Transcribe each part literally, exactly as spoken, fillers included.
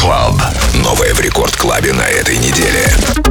Club. Новое в Рекорд Клабе на этой неделе.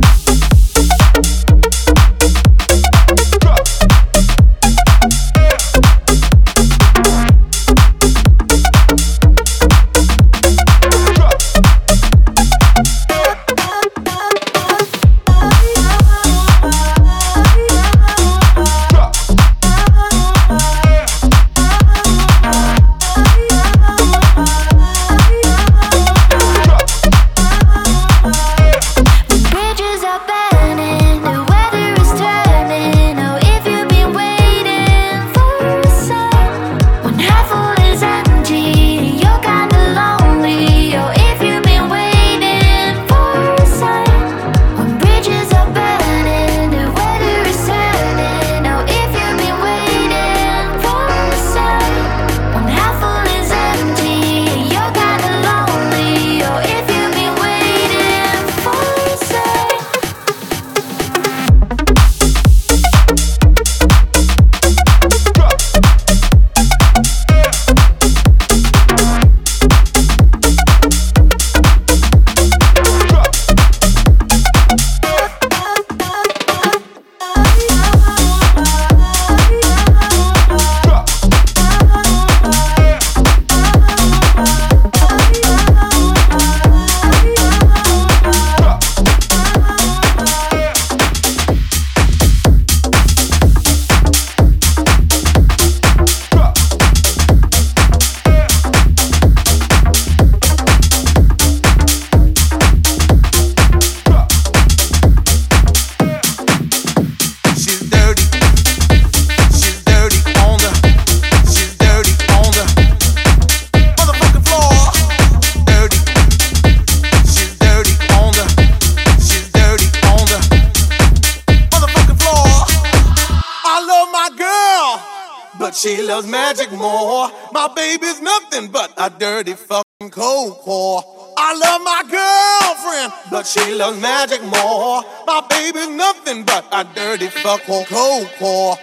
She loves magic more. My baby's nothing but a dirty fucking cold core. I love my girlfriend, but she loves magic more. My baby's nothing but a dirty fucking cold core.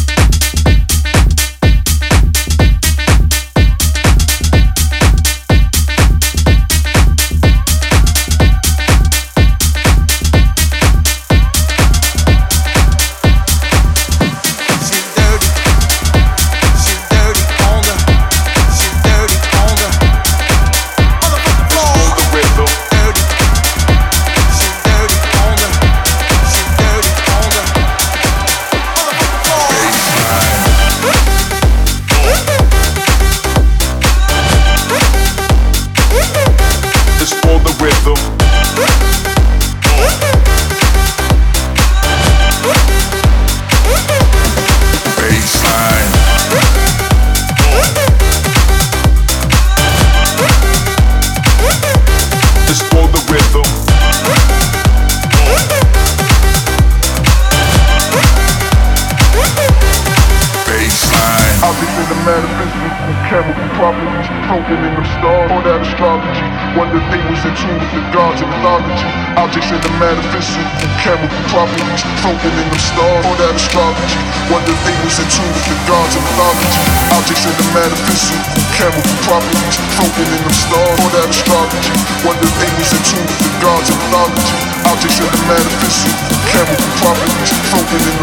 Chemical properties, floating in the stars, all that astrology. Wonder if they was in tune with the gods of mythology. Objects in the metaphysical, chemical properties, floating in the stars, all that astrology. Wonder if they was in tune with the gods of mythology. Objects in the metaphysical, chemical properties, floating in the stars, all that astrology. Wonder if they was in tune with the gods of mythology. Objects in the metaphysical, chemical properties, floating in the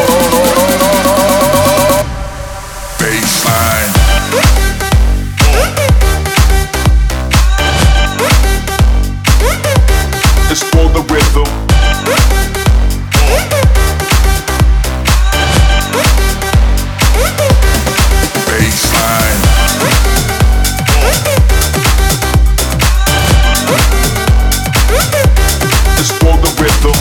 stars. Baseline. It's for the rhythm. Baseline. It's for the rhythm.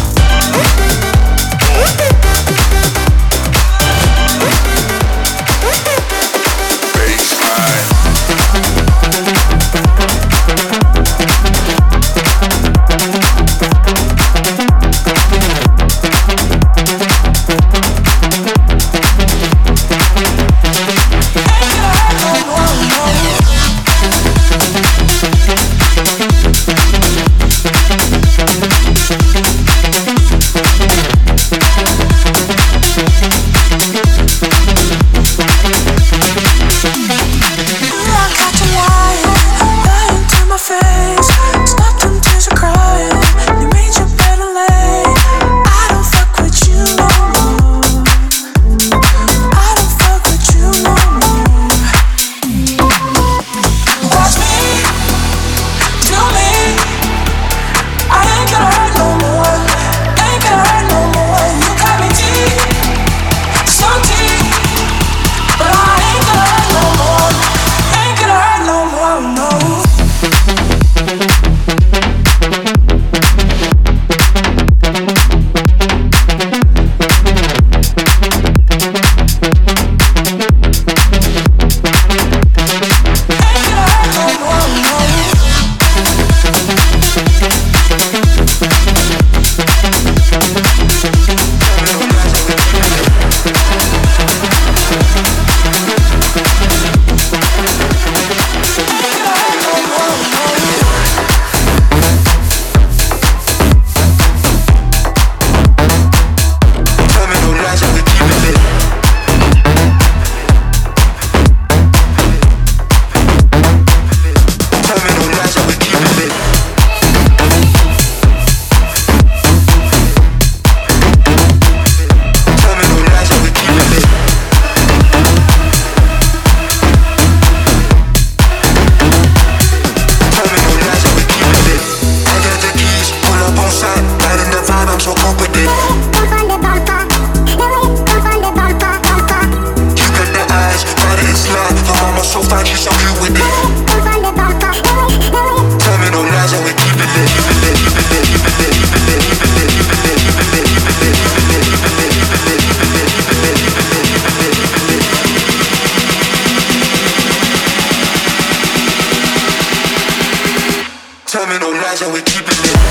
Tell me no lies and we keep it lit.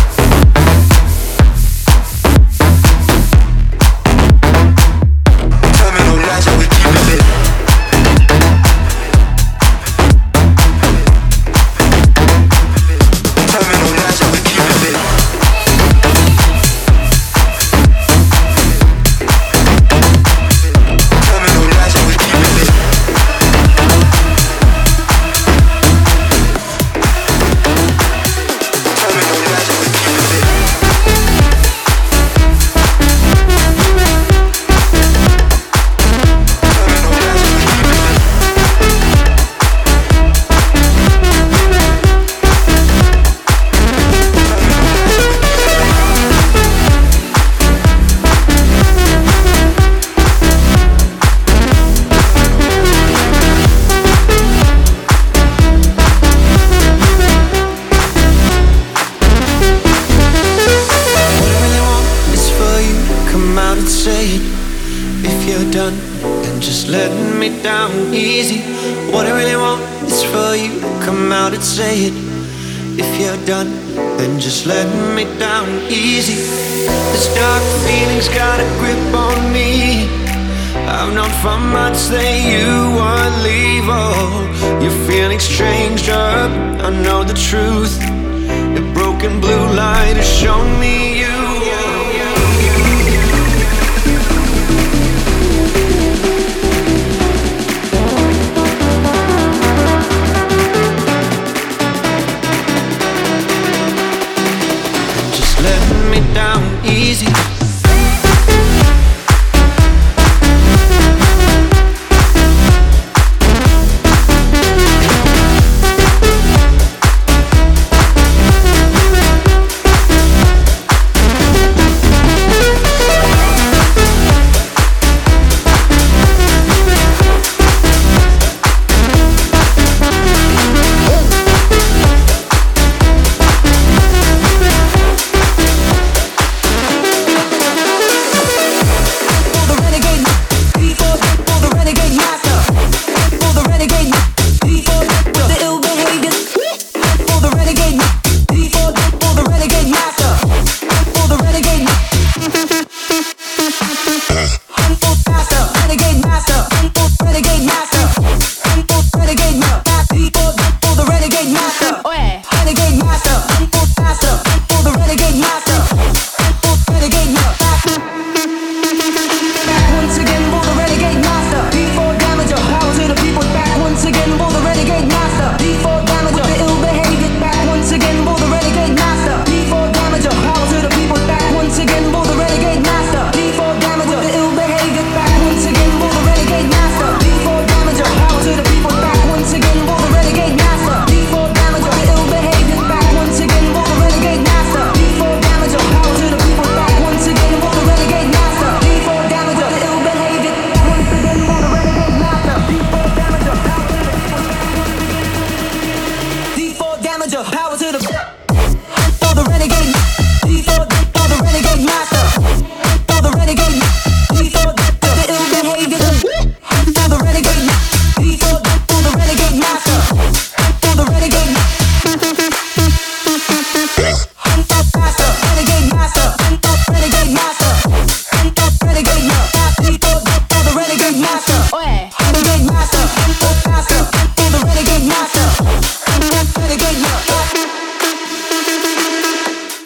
Tell me no lies and we keep it lit. Tell me no lies and we keep it lit. Tell me no lies and we keep it lit. Tell me no lies and we keep it lit. Tell me no lies and we keep it lit. What I really want is for you to come out and say it. If you're done, then just let me down easy. What I really want is for you to come out and say it. If you're done, then just let me down easy. This dark feeling's got a grip on me. I've known for months that you would leave. Oh, your feelings changed up, I know the truth. The broken blue light has shown me you. And just let me down easy. Power